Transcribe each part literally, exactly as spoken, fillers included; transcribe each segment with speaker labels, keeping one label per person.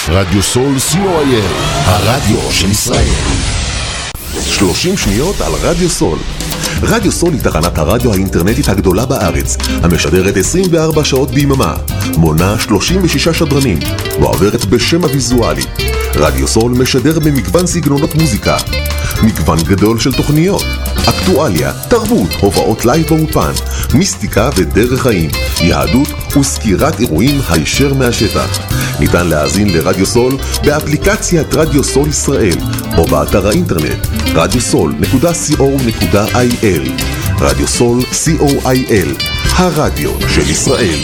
Speaker 1: רדיו סול סי או איי אל, הרדיו של ישראל. שלושים שניות על רדיו סול. רדיו סול היא תחנת הרדיו האינטרנטית הגדולה בארץ, המשדרת עשרים וארבע שעות ביממה, מונה שלושים ושישה שדרנים, ועוברת בשם הוויזואלי. רדיו סול משדר במגוון סגנונות מוזיקה, מגוון גדול של תוכניות, אקטואליה, תרבות, הופעות לייב באופן, מיסטיקה ודרך חיים, יהדות וסקירת אירועים הישר מהשטח. ניתן להאזין לרדיו סול באפליקציית רדיו סול ישראל או באתר האינטרנט רדיו סול נקודה סי או נקודה איי אל. רדיו סול סי או איי אל, הרדיו של ישראל.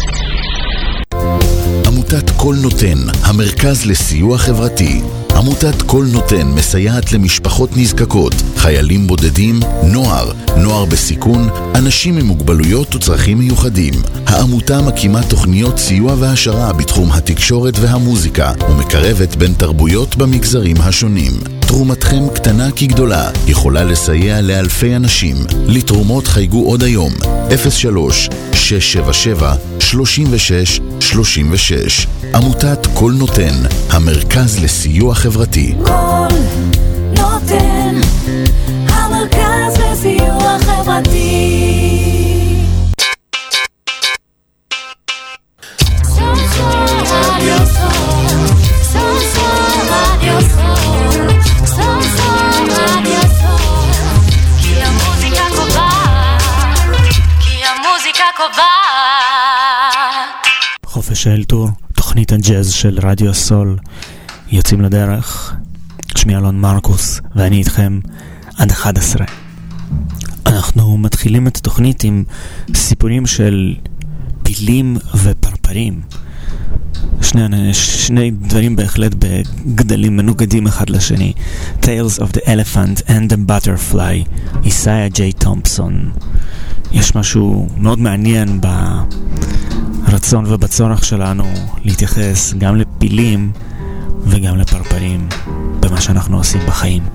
Speaker 2: עמותת כל נותן, המרכז לסיוע חברתי. עמותת כל נותן מסייעת למשפחות נזקקות, חיילים בודדים, נוער, נוער בסיכון, אנשים עם מוגבלויות וצרכים מיוחדים. העמותה מקימה תוכניות סיוע והשרה בתחום התקשורת והמוזיקה ומקרבת בין תרבויות במגזרים השונים. תרומתכם קטנה כגדולה, יכולה לסייע לאלפי אנשים. לתרומות חייגו עוד היום אפס שלוש שש שבע שבע שלושים ושש שלושים ושש. עמותת כל נותן, המרכז לסיוע חברתי.
Speaker 3: כל נותן, המרכז לסיוע חברתי.
Speaker 4: חופש האלתור, תוכנית הג'אז של רדיו הסול, יוצאים לדרך. שמי אלון מרקוס ואני איתכם עד אחת עשרה. אנחנו מתחילים את התוכנית עם סיפורים של פילים ופרפרים, שני, שני דברים בהחלט בגדלים מנוגדים אחד לשני. Tales of the Elephant and the Butterfly, איסאיה ג'יי תומפסון. יש משהו מאוד מעניין ברצון ובצורך שלנו להתייחס גם לפילים וגם לפרפרים במה שאנחנו עושים בחיים.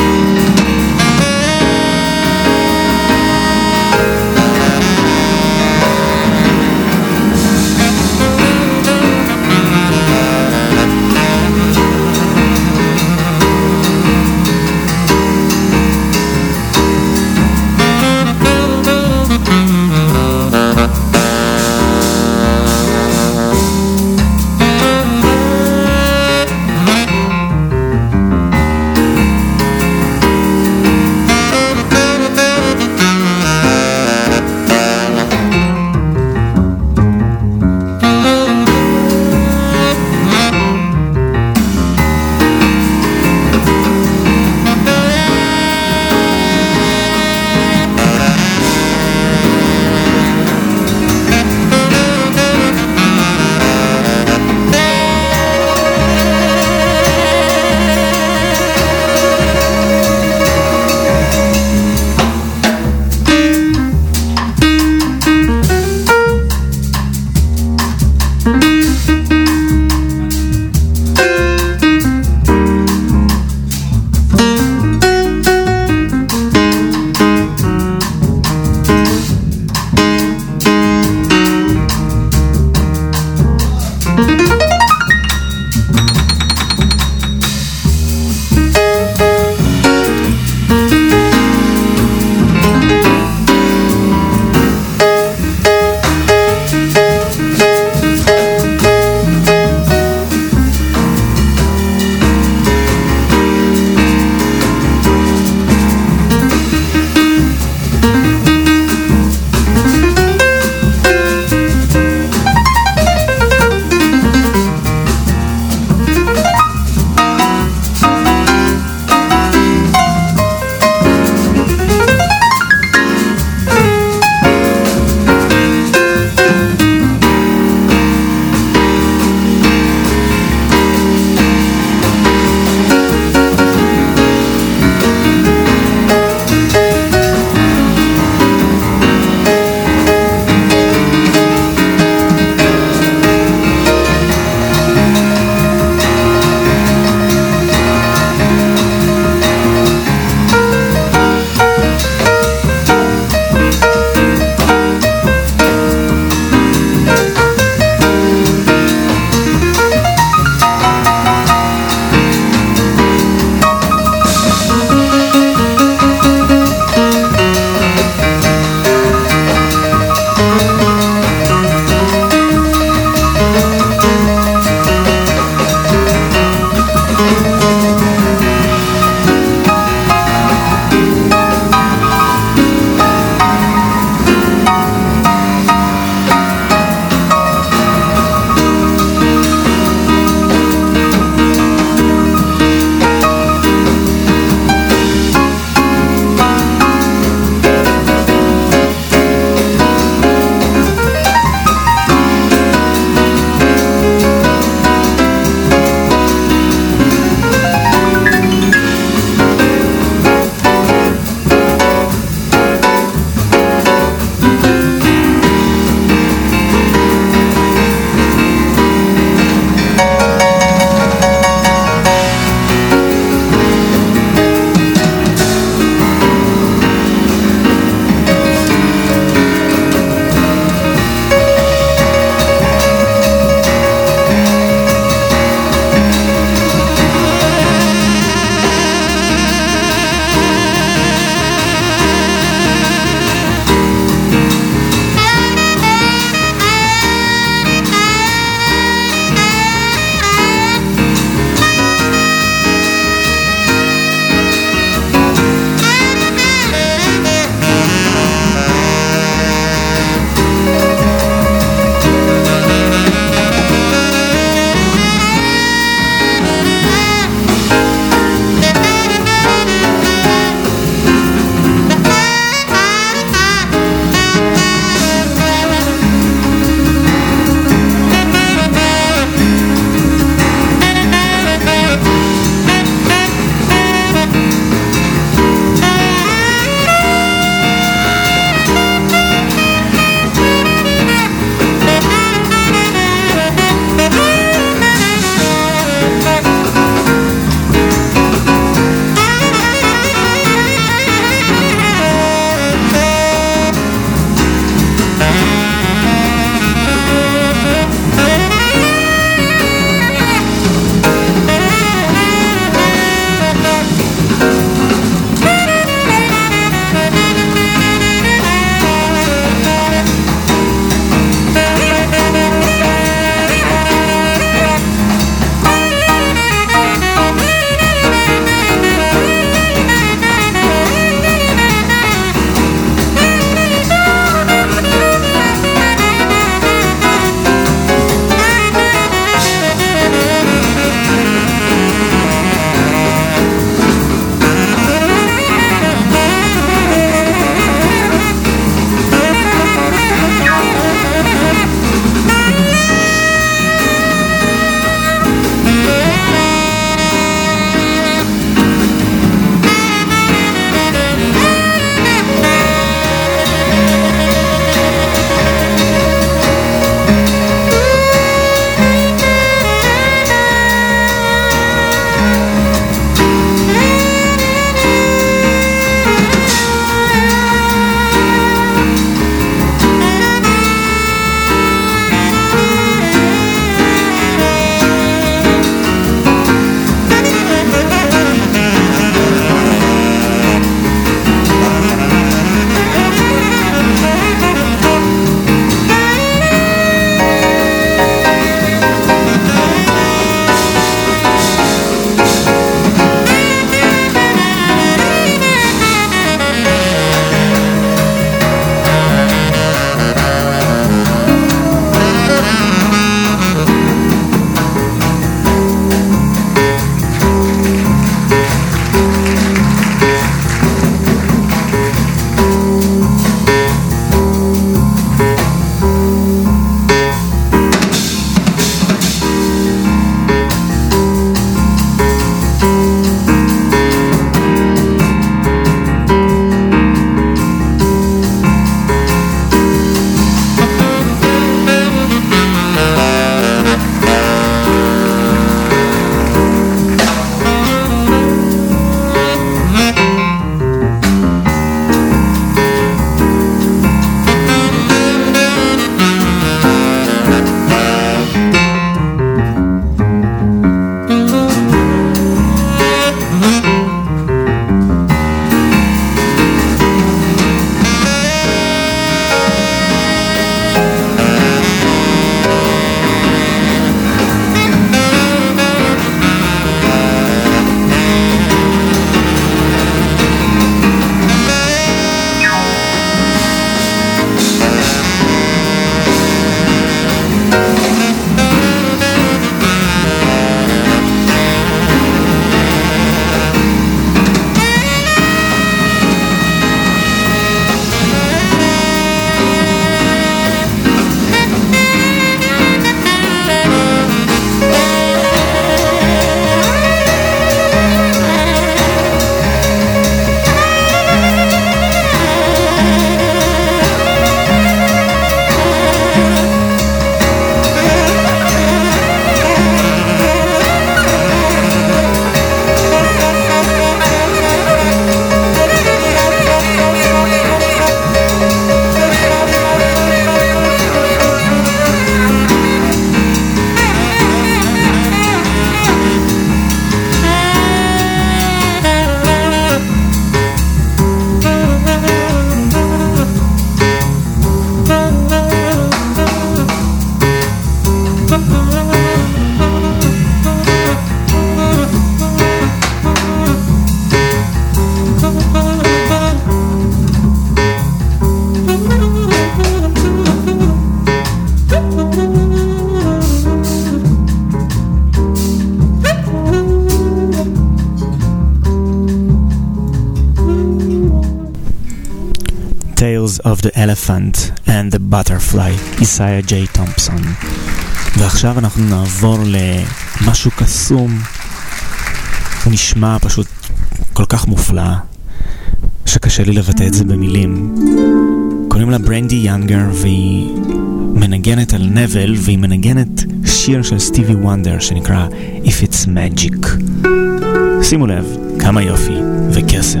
Speaker 4: Tales of the Elephant and the Butterfly, איסאיה ג'יי תומפסון. ועכשיו אנחנו נעבור למשהו קסום, הוא נשמע פשוט כל כך מופלא שקשה לי לבטא את זה במילים. קוראים לה ברנדי יאנגר והיא מנגנת על נבל, והיא מנגנת שיר של סטיבי וונדר שנקרא If It's Magic. שימו לב כמה יופי וקסם.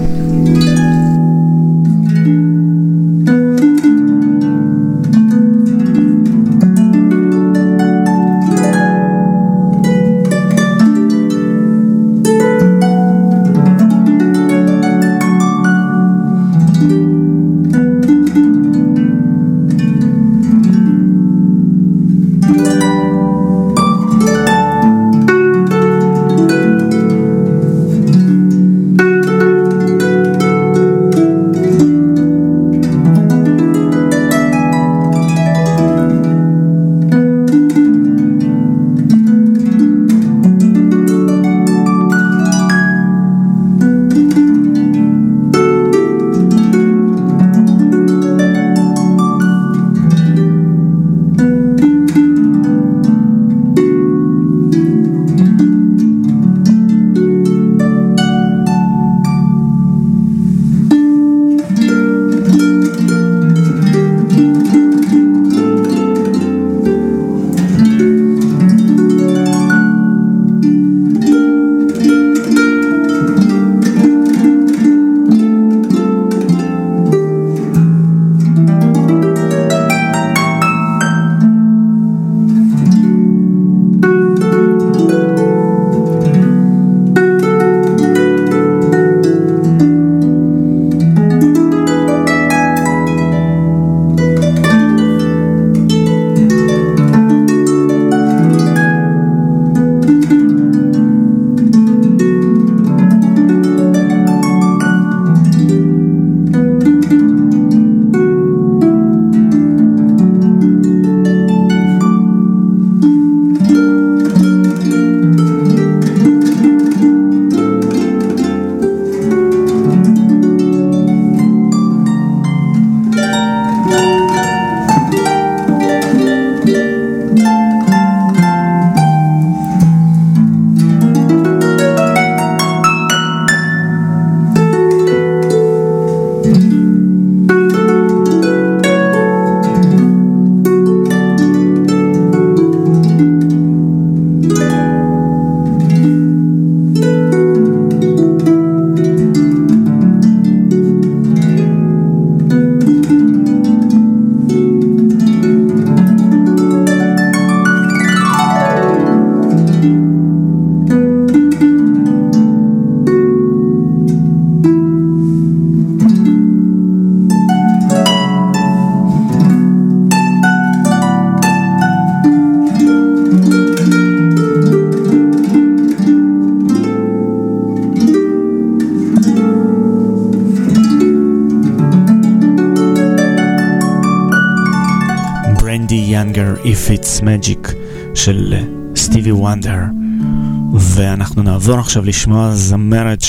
Speaker 4: If It's Magic של סטיבי וונדר. ואנחנו נעבור עכשיו לשמוע זמרת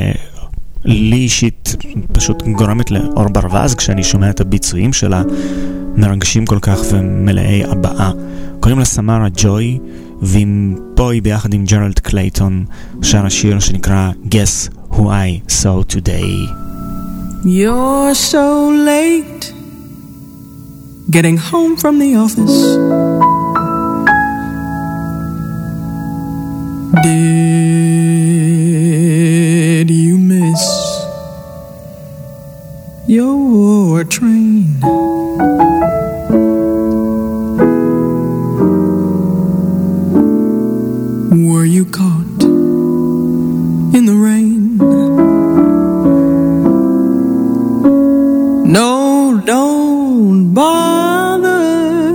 Speaker 4: שלי אישית פשוט גורמת לאור ברווז כשאני שומע את הביצועים שלה, מרגשים כל כך ומלאי הבאה. קוראים לה סמרה ג'וי, ועם פה היא ביחד עם ג'רלד קלייטון שר השיר שנקרא Guess Who I Saw Today.
Speaker 5: You're so late getting home from the office. Did you miss your train? Were you caught in the rain? No, don't bother.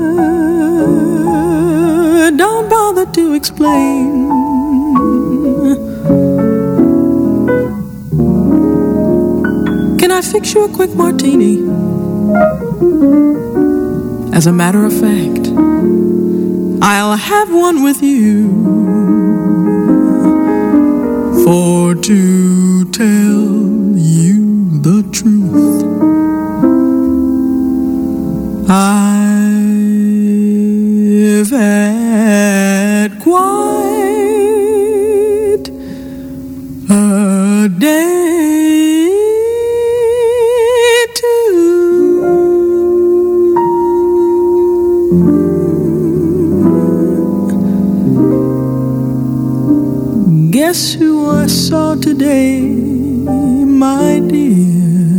Speaker 5: Don't bother to explain. Can I fix you a quick martini? As a matter of fact, I'll have one with you. For to tell you the truth, I've had quite a day too. Guess who I saw today, my dear?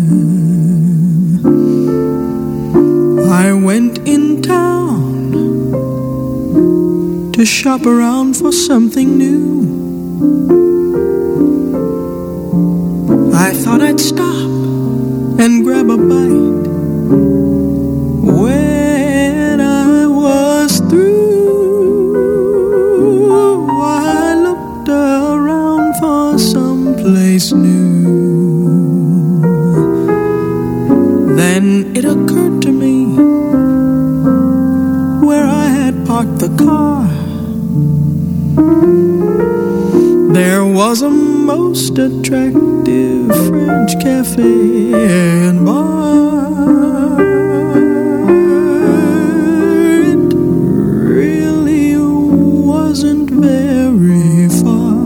Speaker 5: I went in town to shop around for something new. I thought I'd stop and grab a bite. When I was through, I looked around for some place new. Then it occurred to me where I had parked the car. There was a most attractive French cafe and bar. It really wasn't very far.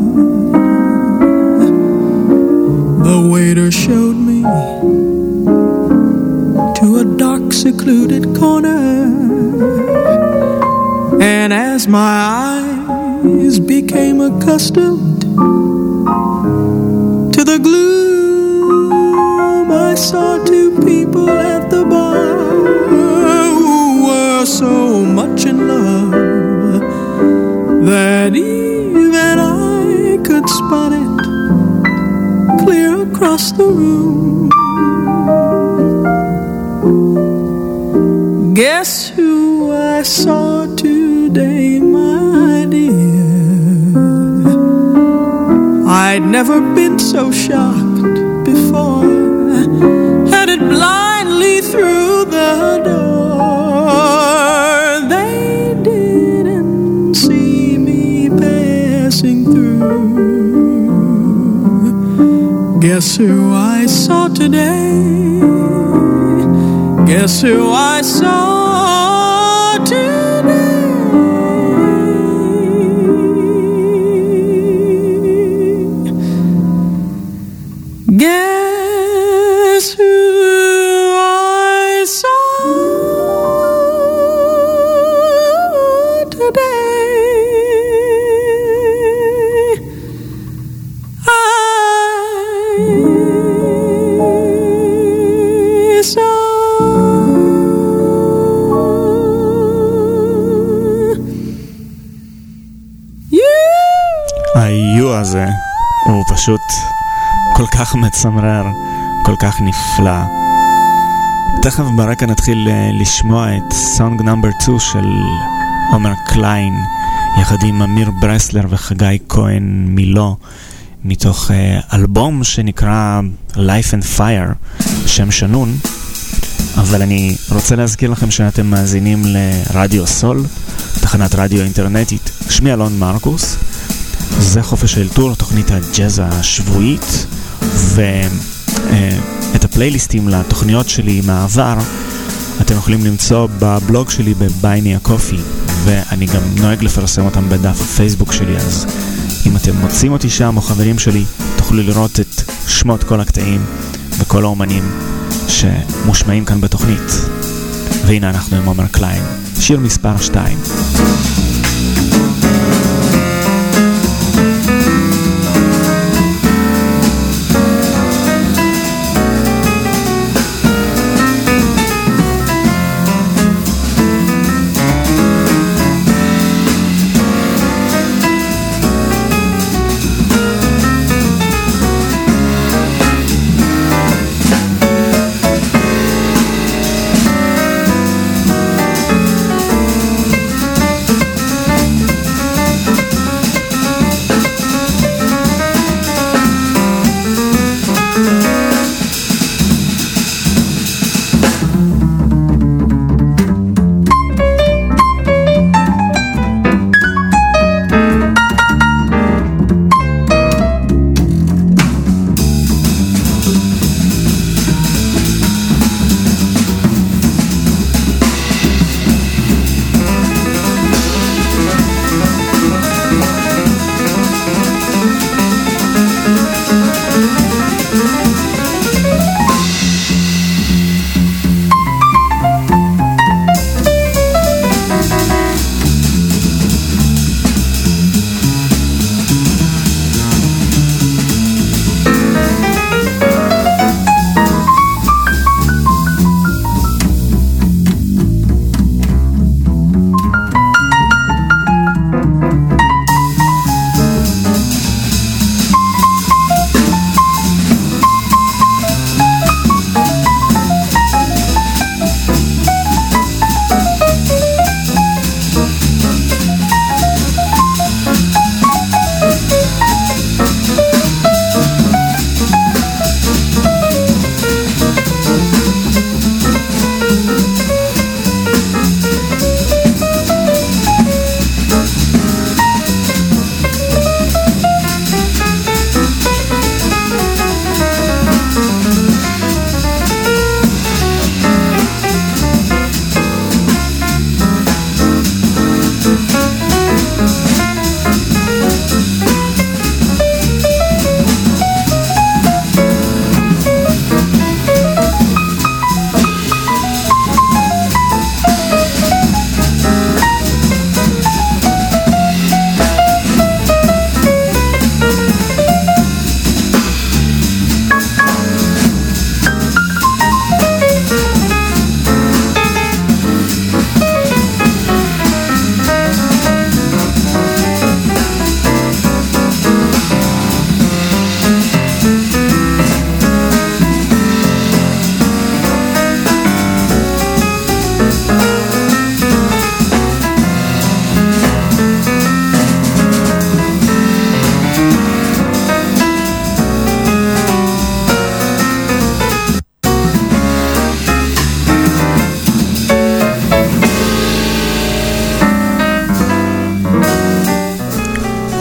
Speaker 5: The waiter showed me to a dark, secluded corner, and as my eyes became accustomed to the gloom, I saw two people at the bar who were so much in love that even I could spot it clear across the room. Guess who I saw today, my dear? I'd never been so shocked before. Headed blindly through the door. They didn't see me passing through. Guess who I saw today? Guess who I saw today? Guess who I saw today? I saw
Speaker 4: היו הזה הוא פשוט כל כך מצמרר, כל כך נפלא. תכף ברקע נתחיל לשמוע את סונג נאמבר טו של עומר קליין יחד עם אמיר ברסלר וחגי כהן מילו, מתוך אלבום שנקרא Life and Fire, שם שנון. אבל אני רוצה להזכיר לכם שאתם מאזינים לרדיו סול, תחנת רדיו אינטרנטית. שמי אלון מרקוס, זה חופש אלתור, תוכנית הג'אז השבועית, ואת הפלייליסטים לתוכניות שלי מהעבר אתם יכולים למצוא בבלוג שלי בבייני הקופי, ואני גם נוהג לפרסם אותם בדף הפייסבוק שלי, אז אם אתם מוצאים אותי שם או חברים שלי תוכלו לראות את שמות כל הקטעים וכל האומנים שמושמעים כאן בתוכנית. והנה אנחנו עם עומר קליין, שיר מספר שתיים.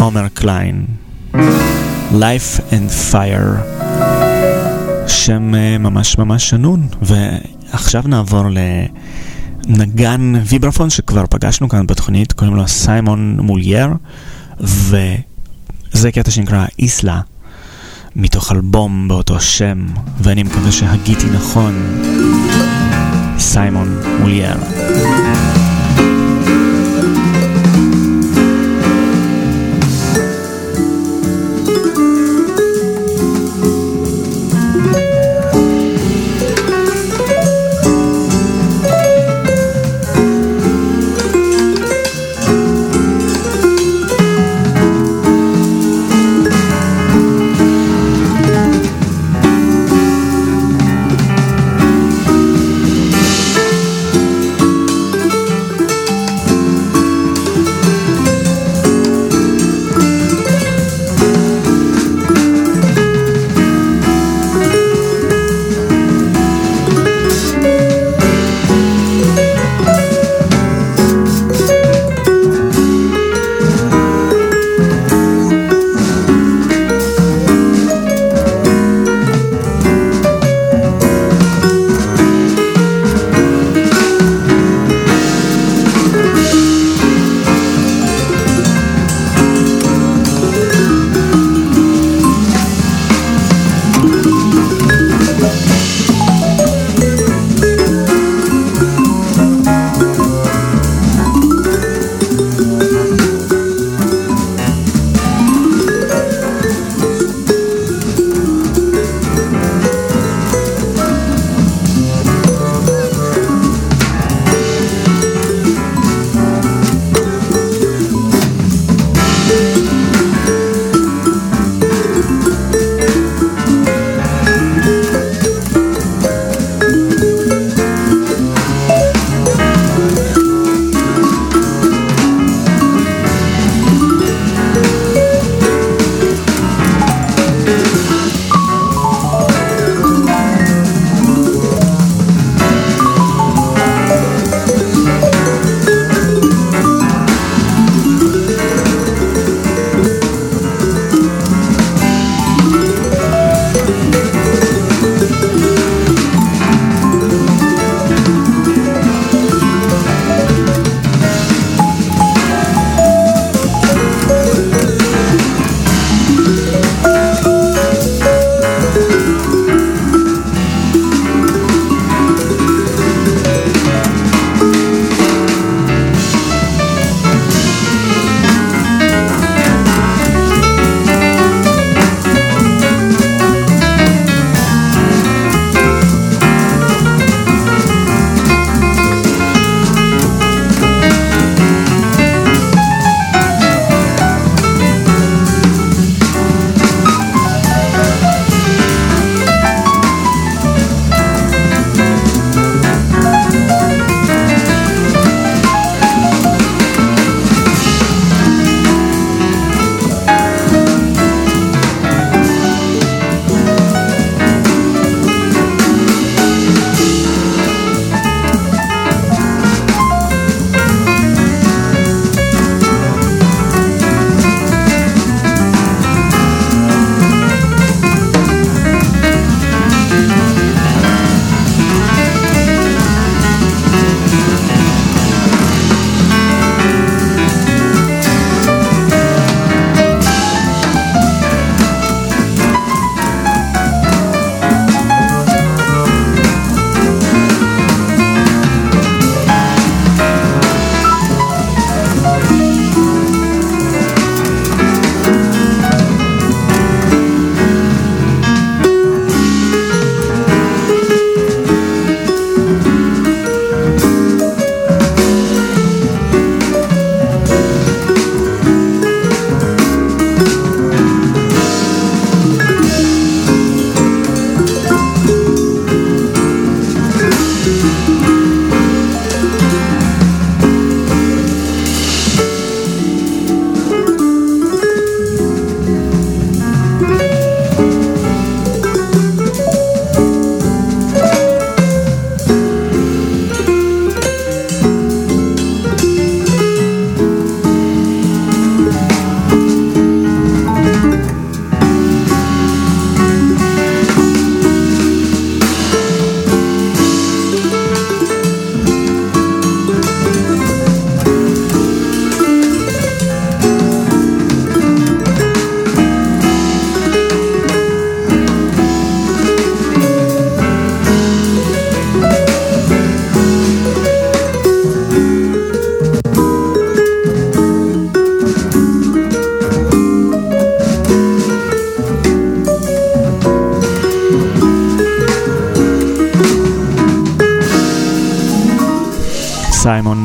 Speaker 4: עומר קליין, Life and Fire, שם ממש ממש שנון. ועכשיו נעבור לנגן ויברפון שכבר פגשנו כאן בתוכנית, קוראים לו סיימון מולייר, וזה קטע שנקרא איסלה, מתוך אלבום באותו שם, ואני מקווה שהגיתי נכון. סיימון מולייר.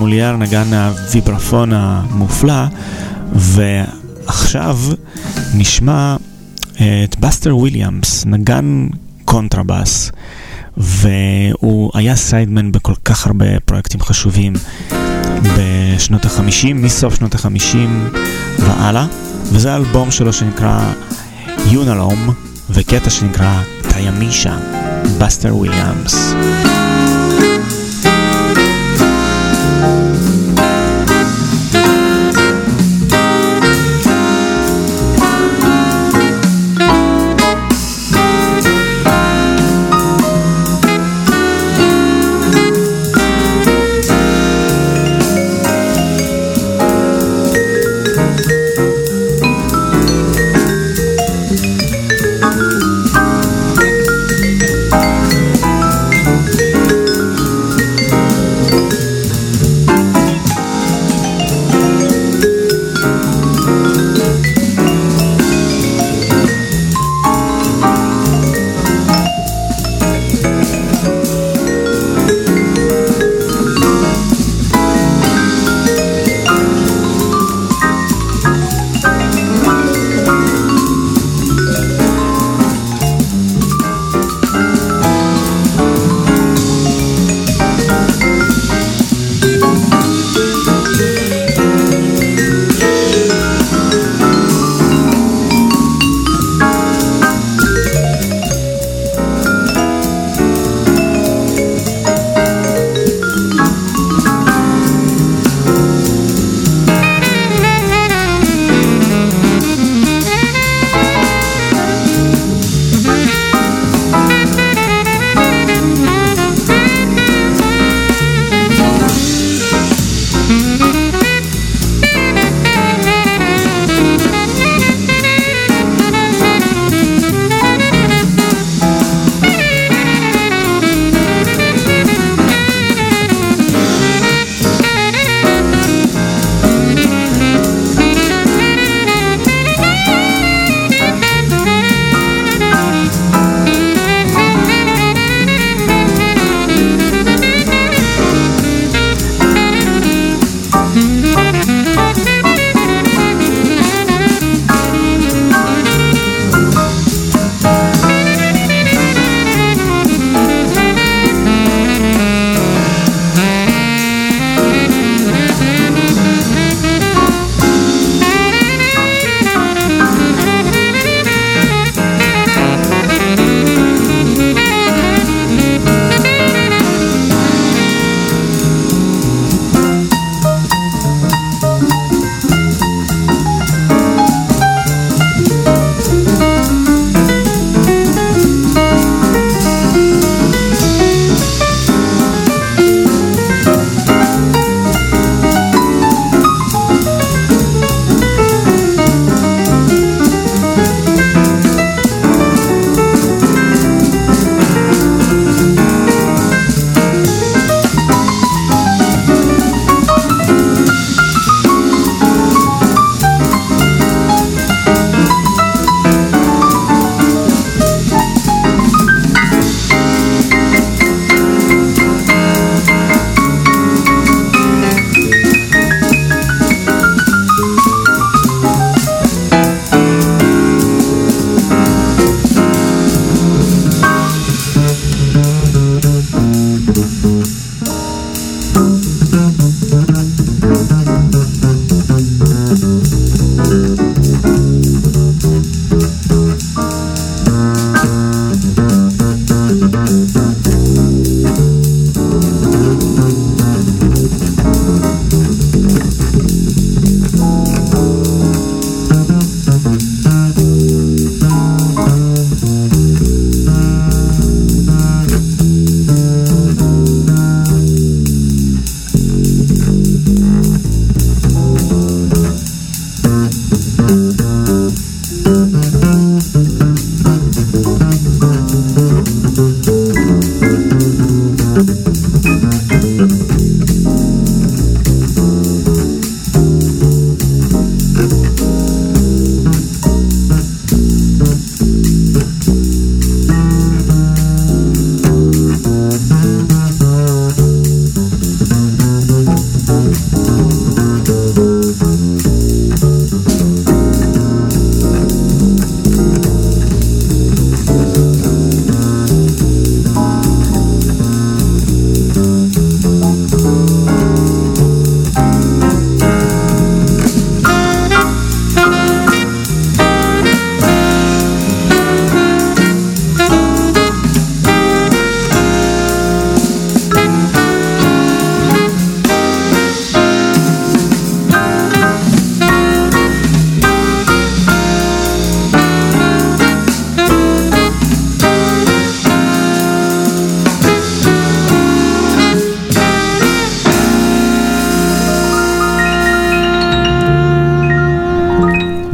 Speaker 4: מולייר נגן הוויברפון המופלא, ועכשיו נשמע את בסטר וויליאמס, נגן קונטרבאס, והוא היה סיידמן בכל כך הרבה פרויקטים חשובים בשנות החמישים, מסוף שנות החמישים והלאה, וזה האלבום שלו שנקרא יונלום, וקטע שנקרא תיימישה, בסטר וויליאמס.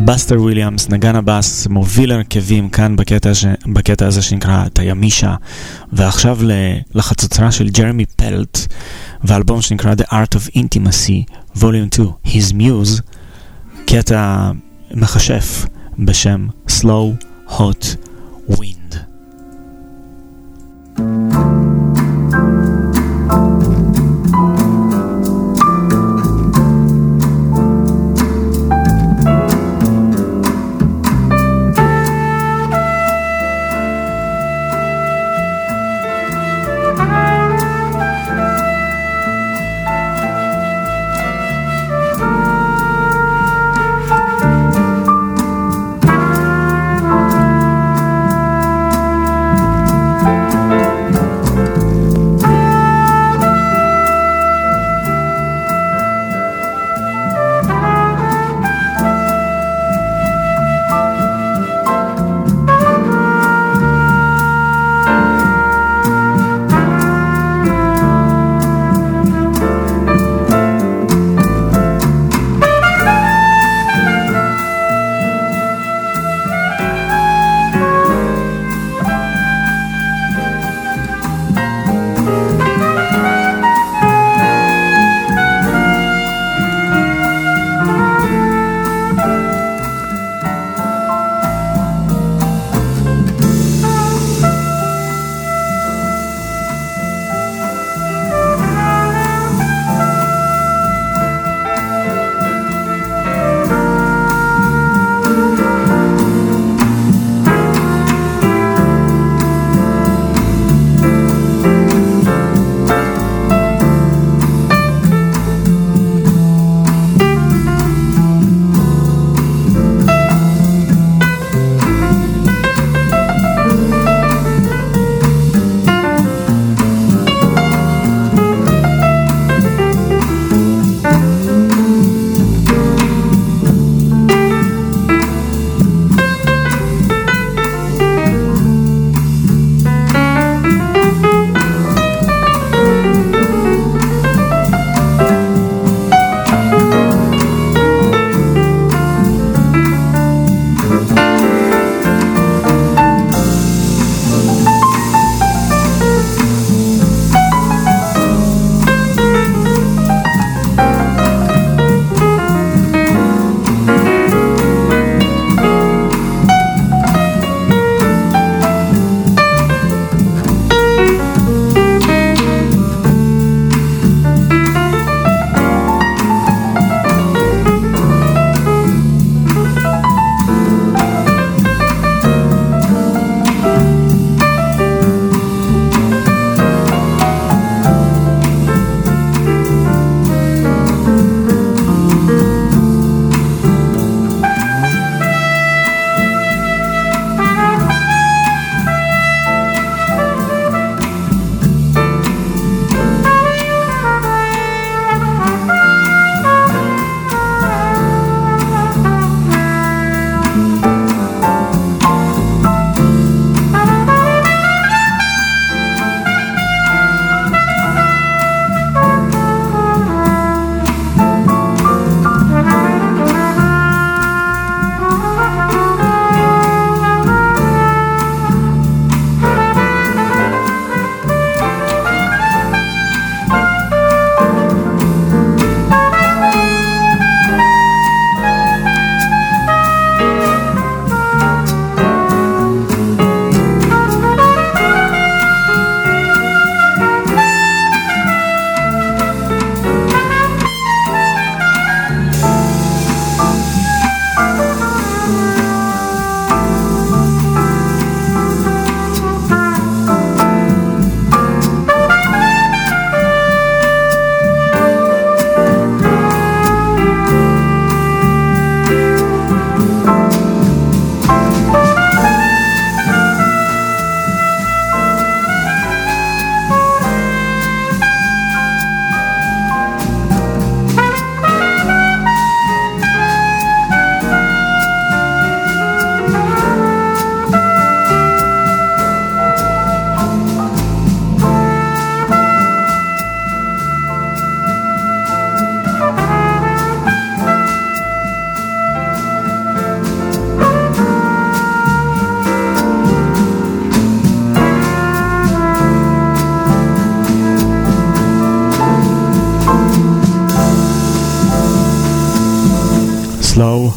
Speaker 4: בסטר וויליאמס, נגן הבאס, מוביל הרכבים כאן בקטע, ש... בקטע הזה שנקרא תיימישה, ועכשיו לחצוצרה של ג'רמי פלט, ואלבום שנקרא The Art of Intimacy, Volume two, His Muse, קטע מחשף בשם Slow Hot Wind.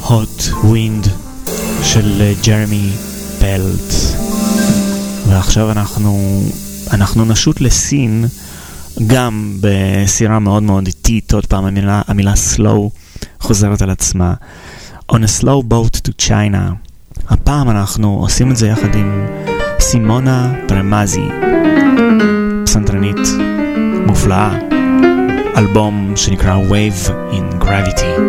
Speaker 4: Hot Wind של ג'רמי פלט. ועכשיו אנחנו אנחנו נשוט לסין, גם בסירה מאוד מאוד איטית. עוד פעם המילה, המילה slow חוזרת על עצמה. On a slow boat to China. הפעם אנחנו עושים את זה יחד עם סימונה פרמזי, פסנתרנית מופלאה. אלבום שנקרא Wave in Gravity.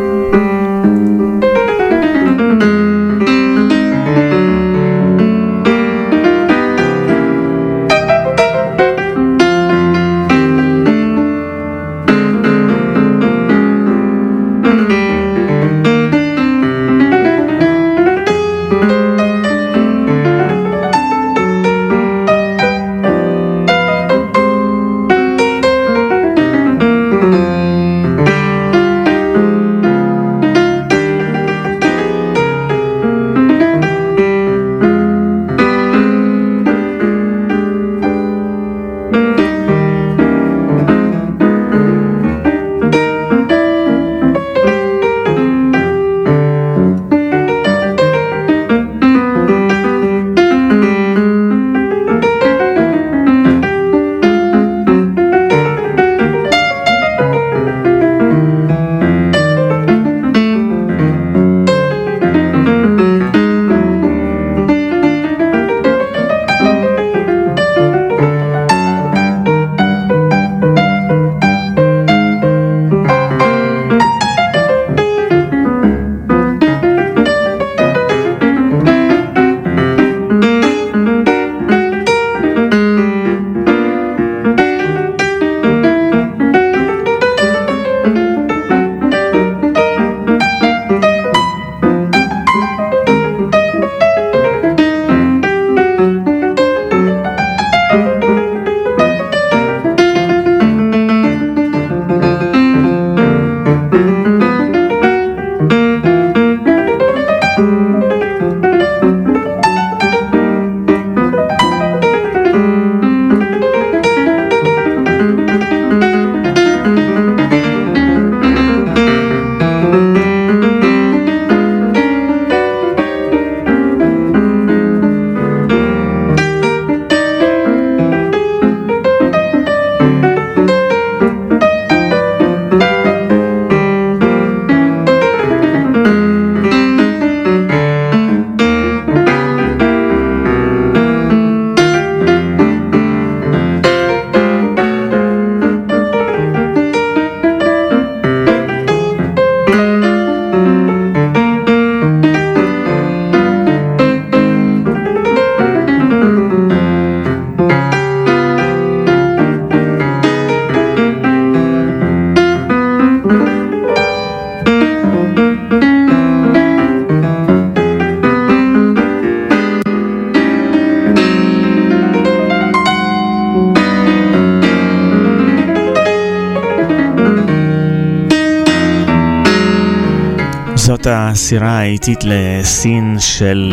Speaker 4: זאת הסירה האיטית לסין של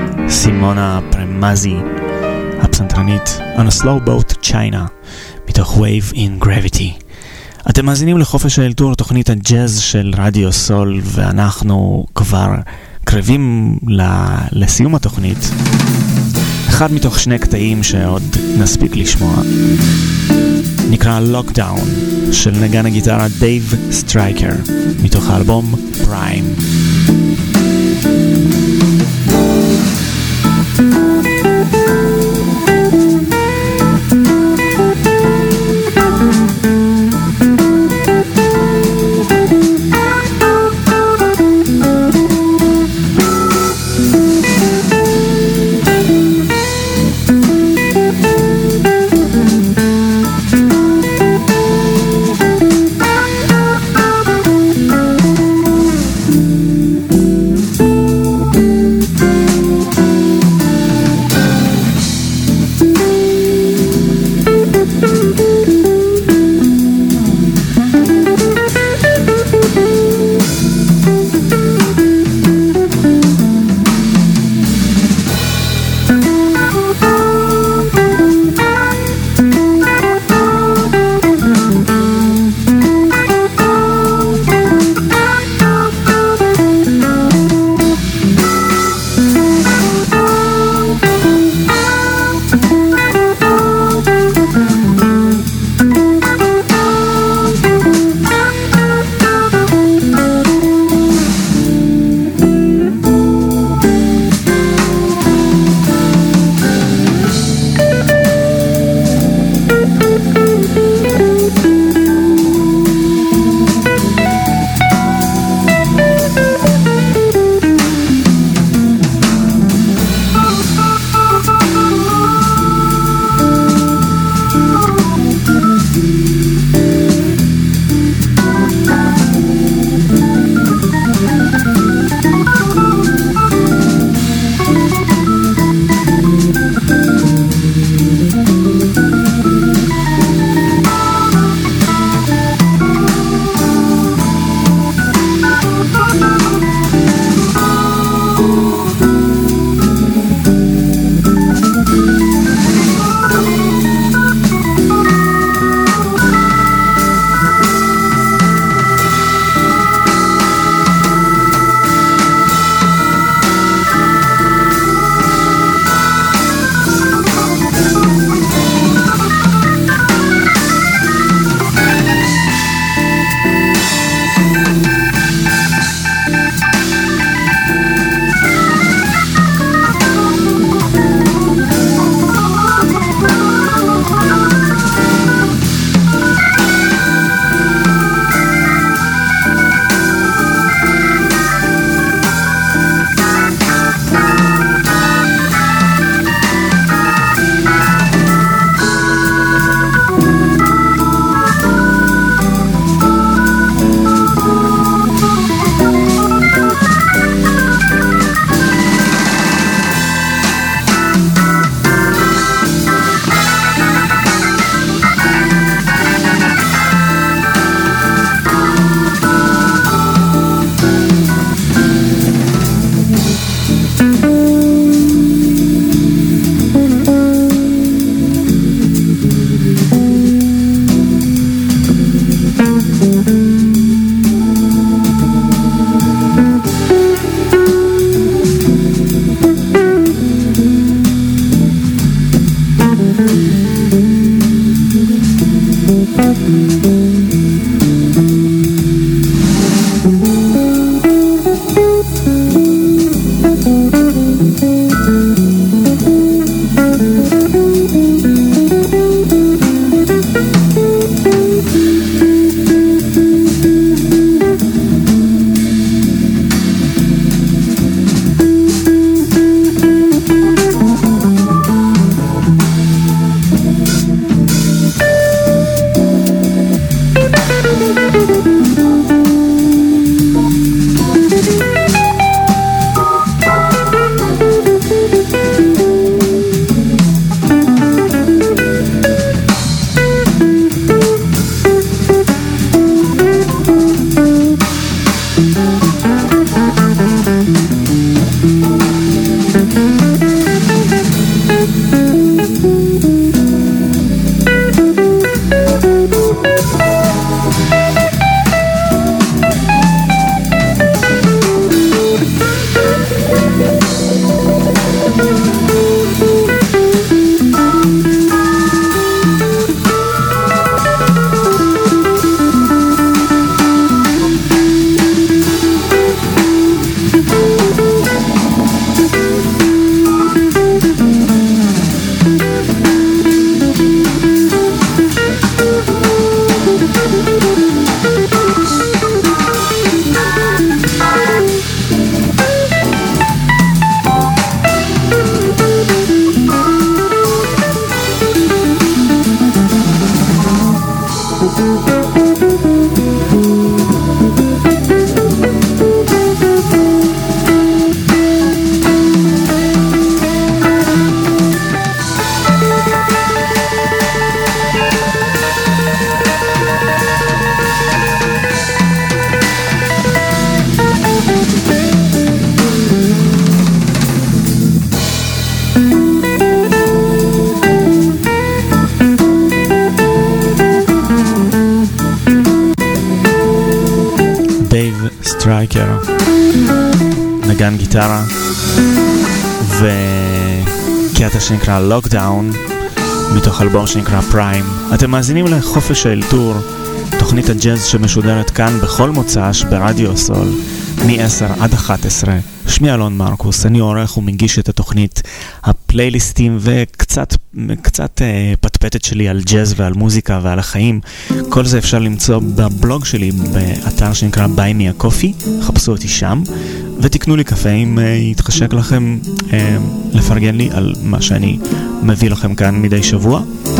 Speaker 4: סימונה פרמזי, הפסנתרנית On a Slow Boat to China, מתוך Wave in Gravity. אתם מאזינים לחופש האלתור, תוכנית הג'אז של רדיו סול, ואנחנו כבר קרבים לסיום התוכנית. אחד מתוך שני קטעים שעוד נספיק לשמוע נקרא Lockdown של נגן הגיטרה דייב סטרייקר, מתוך האלבום פריים.
Speaker 3: Thank you.
Speaker 4: סטרייקר, נגן גיטרה, וקטע שנקרא לוקדאון מתוך אלבום שנקרא פריים. אתם מאזינים לחופש האלתור, תוכנית הג'אז שמשודרת כאן בכל מוצ"ש ברדיו סול מ-עשר עד אחת עשרה. שמי אלון מרקוס, אני עורך ומגיש את התוכנית, הפלייליסטים וקצת קצת אה, פטפטת שלי על ג'אז ועל מוזיקה ועל החיים. כל זה אפשר למצוא בבלוג שלי באתר שנקרא Buy Me a Coffee, חפשו אותי שם ותקנו לי קפה אם אה, יתחשק לכם אה, לפרגן לי על מה שאני מביא לכם כאן מדי שבוע.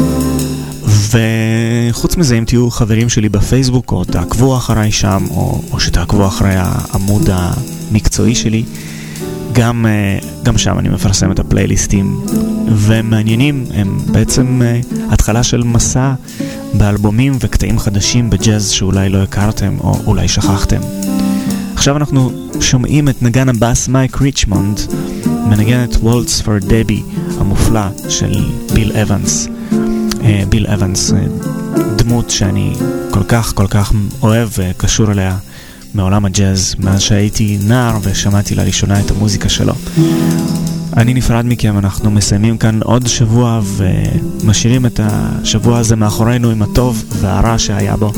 Speaker 4: וחוץ מזה, אם תהיו חברים שלי בפייסבוק או תעקבו אחריי שם או, או שתעקבו אחרי העמוד המקצועי שלי, גם, גם שם אני מפרסם את הפלייליסטים ומעניינים. הם בעצם התחלה של מסע באלבומים וקטעים חדשים בג'אז שאולי לא הכרתם או אולי שכחתם. עכשיו אנחנו שומעים את נגן הבאס מייק ריצ'מונד מנגן את וולטס פור דבי המופלא של ביל אבנס. ביל אבנס, דמות שאני כל כך כל כך אוהב וקשור אליה מעולם הג'אז מאז שהייתי נער ושמעתי לראשונה את המוזיקה שלו. אני נפרד מכם, אנחנו מסיימים כאן עוד שבוע ומשאירים את השבוע הזה מאחורינו עם הטוב והרע שהיה בו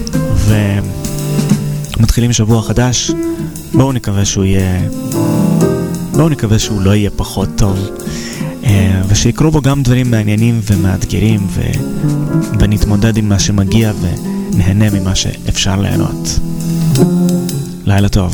Speaker 4: ומתחילים שבוע חדש. בואו נקווה שהוא יהיה בואו נקווה שהוא לא יהיה פחות טוב ושיקרו בו גם דברים מעניינים ומאתגרים ו... ונתמודד עם מה שמגיע ונהנה ממה שאפשר ליהנות. לילה טוב.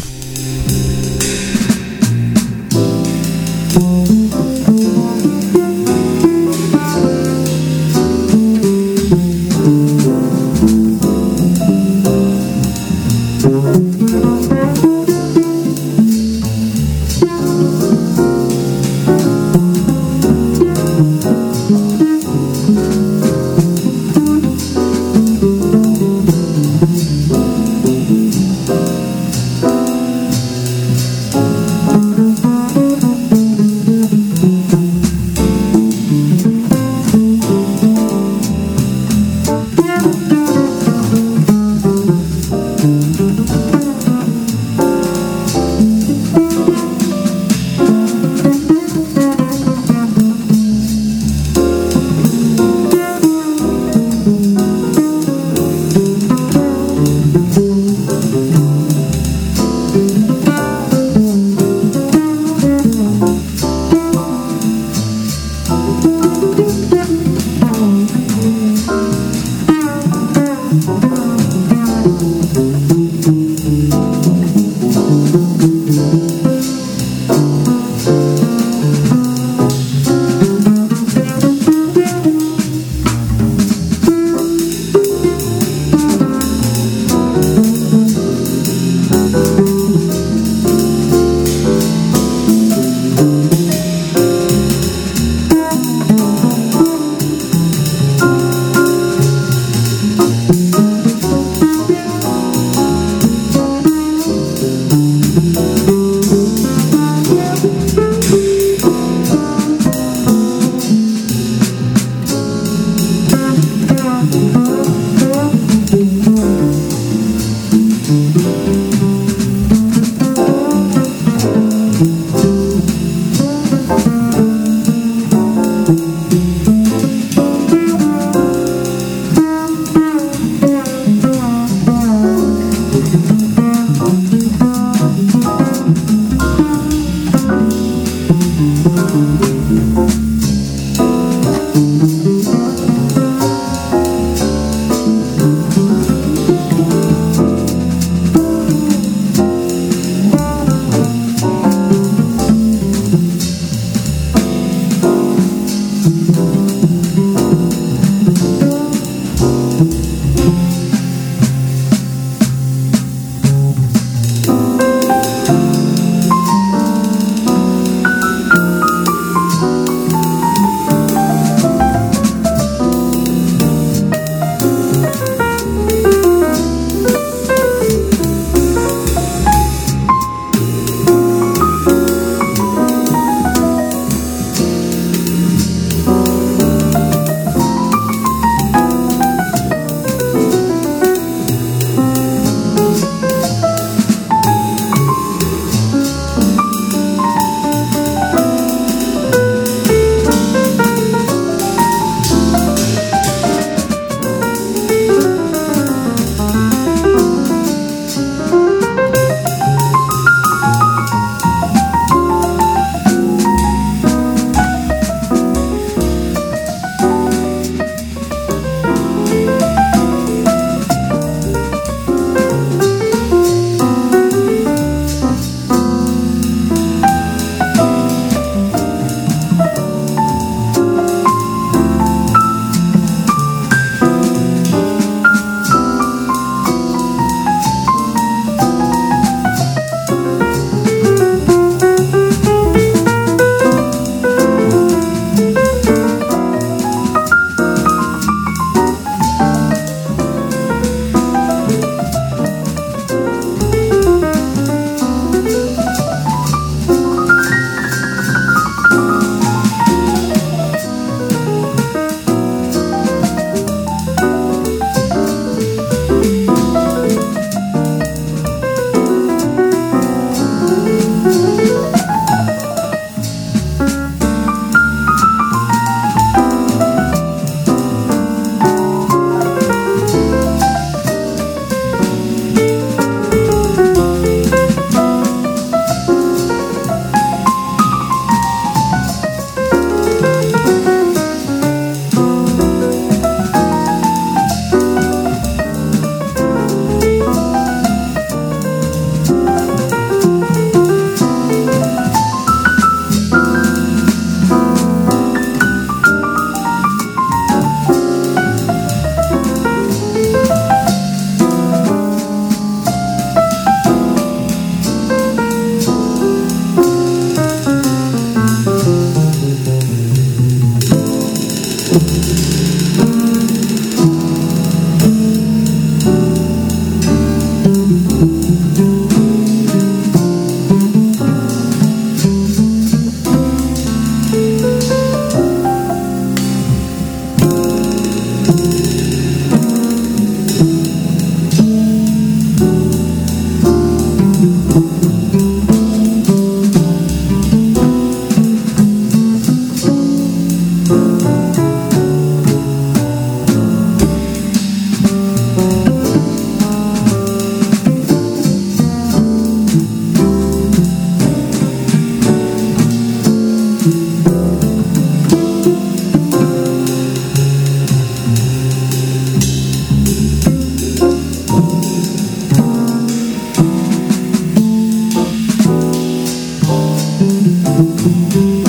Speaker 5: Thank you.